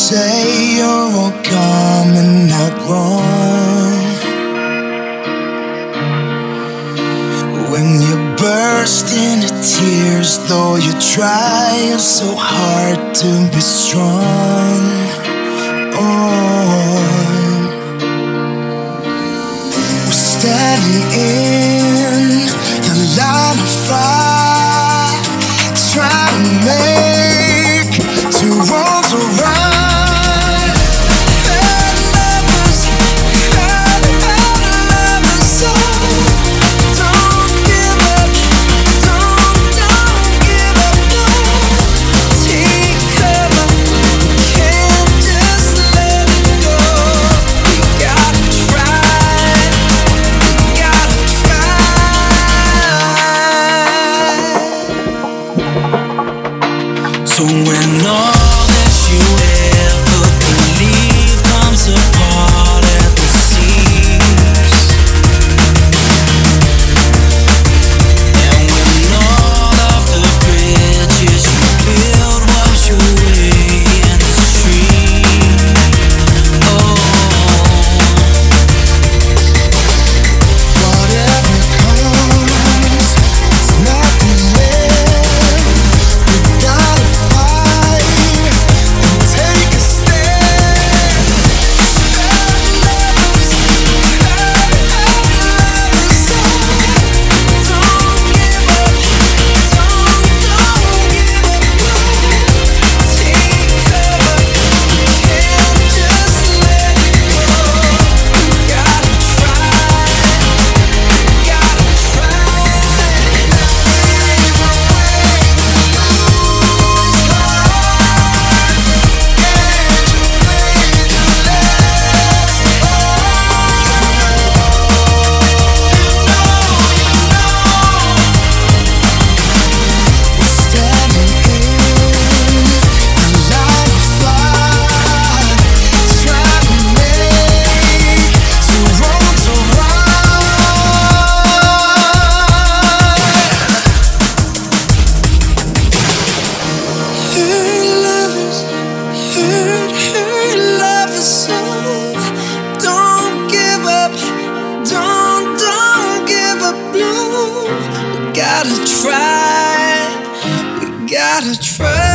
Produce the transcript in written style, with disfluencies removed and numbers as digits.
say you're all coming out wrong. When you burst into tears, though you try so hard to be strong. Oh, we're standing in the line of fire, trying to make two worlds around. So when all that you ever believed comes apart at the seams, and when all of the bridges you built wash away in the stream, oh, whatever comes, it's not the end. We gotta take a stand. gotta try, we gotta try.